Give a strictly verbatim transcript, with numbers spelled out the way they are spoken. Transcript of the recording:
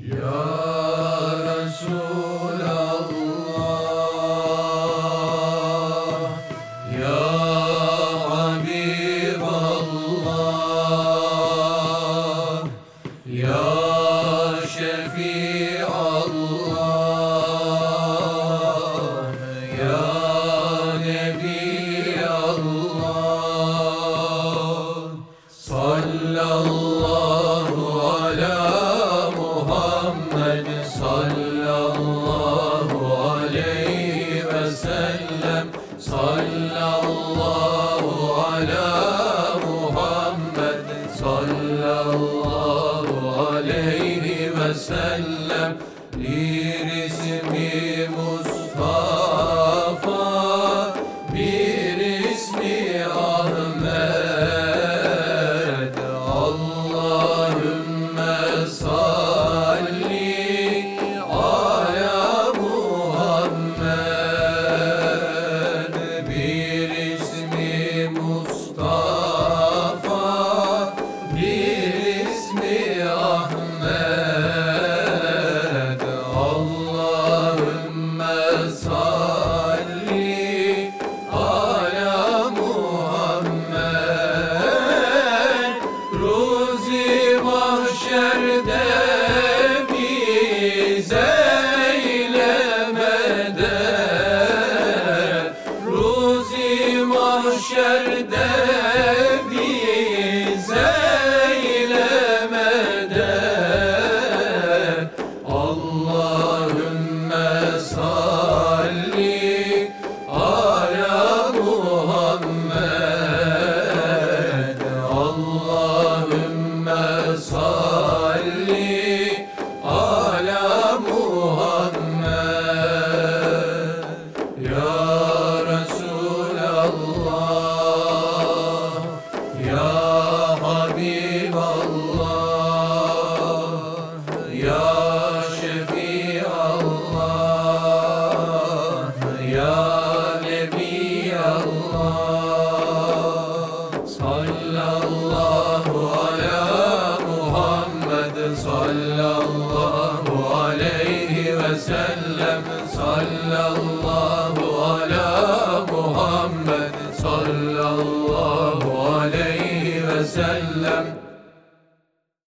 Ya Resulallah, Ya Habiballah, Ya Şefiallah, Ya Nebiyallah. Sallallahu ala Muhammed, sallallahu aleyhi ve sellem. Sallallahu ala Muhammed, sallallahu aleyhi ve sellem. Bir ismi Mustafa, bir ismi Ahmet. Allahümme salli ala Muhammed. Bir ismi Mustafa, bir ismi Ahmet. Allahümme salli ala Muhammed. Ruzi mahşerde bize eylemeden, Ruzi mahşerde bize eylemeden. Allahümme salli ala Muhammed. Allahümme salli ala Muhammed. Ya Resulallah, Ya Habiballah, Ya Şefiallah, Ya Nebiyallah. Sallallahu ala Muhammed, sallallahu aleyhi ve sellem. Sallallahu ala Muhammed, sallallahu aleyhi ve sellem.